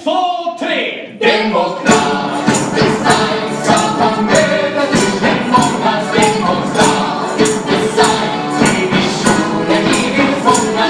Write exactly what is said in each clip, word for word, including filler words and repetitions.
två, tre! Demokratisk design ska ta möta den många demokratisk design. Det är visionen vi vill fånga.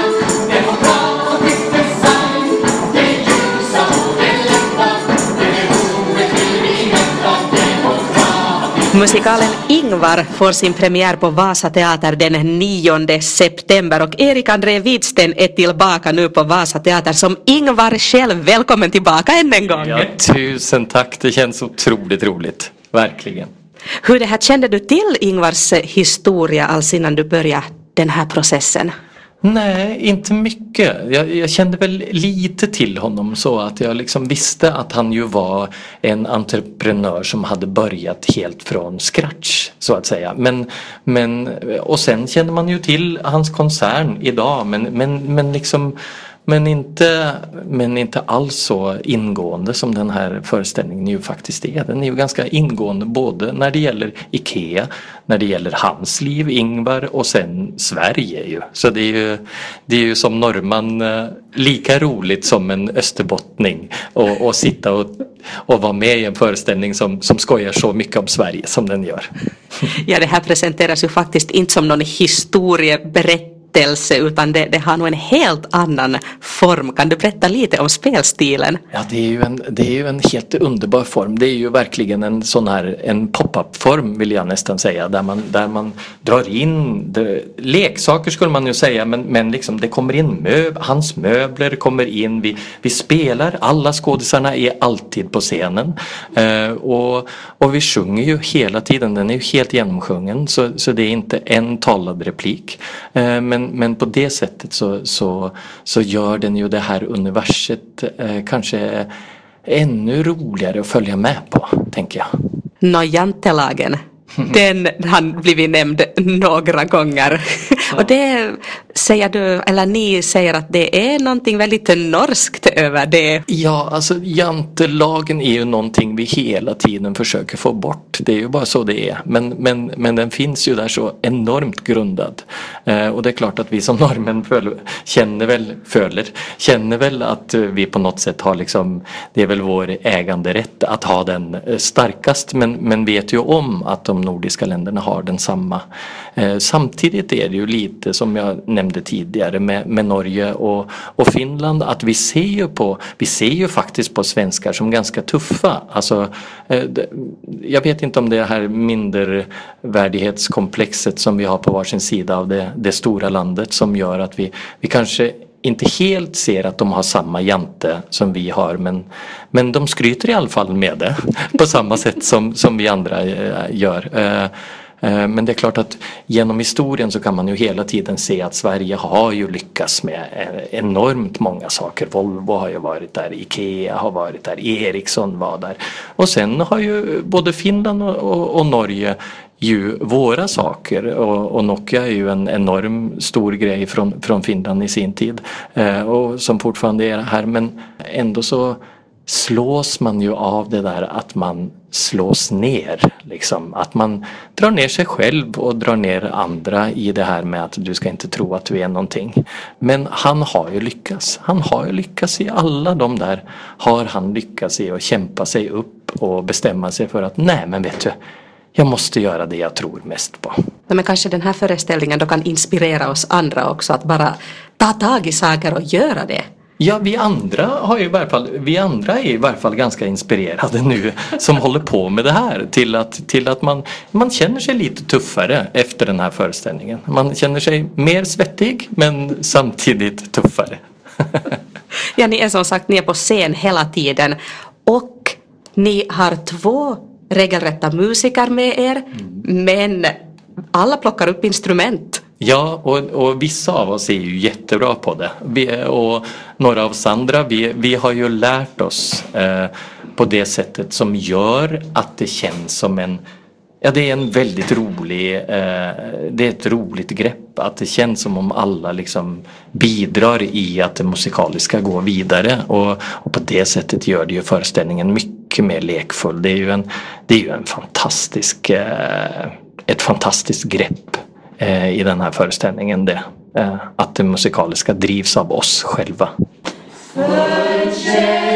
Demokratisk design. Det är ljusa och det lätta. Det är behovet vill vi mätta. Demokratisk. Musikalen Ingvar får sin premiär på Vasa Teater den nionde september och Erik André Widsten är tillbaka nu på Vasa Teater som Ingvar själv. Välkommen tillbaka än en gång. Ja, tusen tack. Det känns otroligt roligt. Verkligen. Hur det här kände du till Ingvars historia alls innan du började den här processen? Nej, inte mycket. Jag, jag kände väl lite till honom så att jag liksom visste att han ju var en entreprenör som hade börjat helt från scratch så att säga. Men, men, och sen kände man ju till hans koncern idag men, men, men liksom Men inte, men inte alls så ingående som den här föreställningen ju faktiskt är. Den är ju ganska ingående både när det gäller Ikea, när det gäller hans liv, Ingvar och sen Sverige ju. Så det är ju, det är ju som norrman lika roligt som en österbottning och, och sitta och, och vara med i en föreställning som, som skojar så mycket om Sverige som den gör. Ja, det här presenteras ju faktiskt inte som någon historieberättelse utan det, det har nog en helt annan form. Kan du berätta lite om spelstilen? Ja, det är ju en, det är ju en helt underbar form. Det är ju verkligen en sån här en pop-up-form vill jag nästan säga. Där man, där man drar in det, leksaker skulle man ju säga men, men liksom det kommer in möb, hans möbler kommer in. Vi, vi spelar, alla skådisarna är alltid på scenen. Eh, och, och vi sjunger ju hela tiden. Den är ju helt genomsjungen så, så det är inte en talad replik. Eh, men Men på det sättet så, så, så gör den ju det här universet eh, kanske ännu roligare att följa med på, tänker jag. Nå, jantelagen. Den har blivit nämnd några gånger. Ja. Och det säger du, eller ni säger att det är någonting väldigt norskt över det. Ja, alltså jantelagen är ju någonting vi hela tiden försöker få bort. Det är ju bara så det är. Men, men, men den finns ju där så enormt grundad. Eh, och det är klart att vi som norrmän föl, känner väl, föler, känner väl att vi på något sätt har liksom, det är väl vår äganderätt att ha den starkast. Men, men vet ju om att de nordiska länderna har den samma. Eh, samtidigt är det ju lite som jag nämnde tidigare med, med Norge och, och Finland att vi ser ju på, vi ser ju faktiskt på svenskar som ganska tuffa. Alltså, eh, det, jag vet inte om det här mindervärdighetskomplexet som vi har på varsin sida av det, det stora landet som gör att vi, vi kanske inte helt ser att de har samma jante som vi har men, men de skryter i alla fall med det på samma sätt som, som vi andra gör. Men det är klart att genom historien så kan man ju hela tiden se att Sverige har ju lyckats med enormt många saker. Volvo har ju varit där, Ikea har varit där, Ericsson var där. Och sen har ju både Finland och, och, och Norge ju våra saker och, och Nokia är ju en enorm stor grej från, från Finland i sin tid eh, och som fortfarande är här men ändå så slås man ju av det där att man slås ner liksom. Att man drar ner sig själv och drar ner andra i det här med att du ska inte tro att du är någonting. Men han har ju lyckats. Han har ju lyckats i alla de där har han lyckats i att kämpa sig upp och bestämma sig för att nej men vet du jag måste göra det jag tror mest på. Men kanske den här föreställningen då kan inspirera oss andra också att bara ta tag i saker och göra det. Ja, vi andra har ju i varje fall, vi andra är i varje fall ganska inspirerade nu som håller på med det här till att, till att man, man känner sig lite tuffare efter den här föreställningen. Man känner sig mer svettig men samtidigt tuffare. Ja, ni är som sagt, ni är på scen hela tiden och ni har två regelrätta musiker med er mm. men alla plockar upp instrument. Ja, och, och vissa av oss är ju jättebra på det. Vi, och några av oss andra, vi, vi har ju lärt oss eh, på det sättet som gör att det känns som en, ja det är en väldigt rolig, eh, det är ett roligt grepp. Att det känns som om alla liksom bidrar i att det musikaliska går vidare. Och, och på det sättet gör det ju föreställningen mycket mer lekfull. Det är ju en, det är ju en fantastisk, eh, ett fantastiskt grepp i den här föreställningen det, att det musikaliska drivs av oss själva.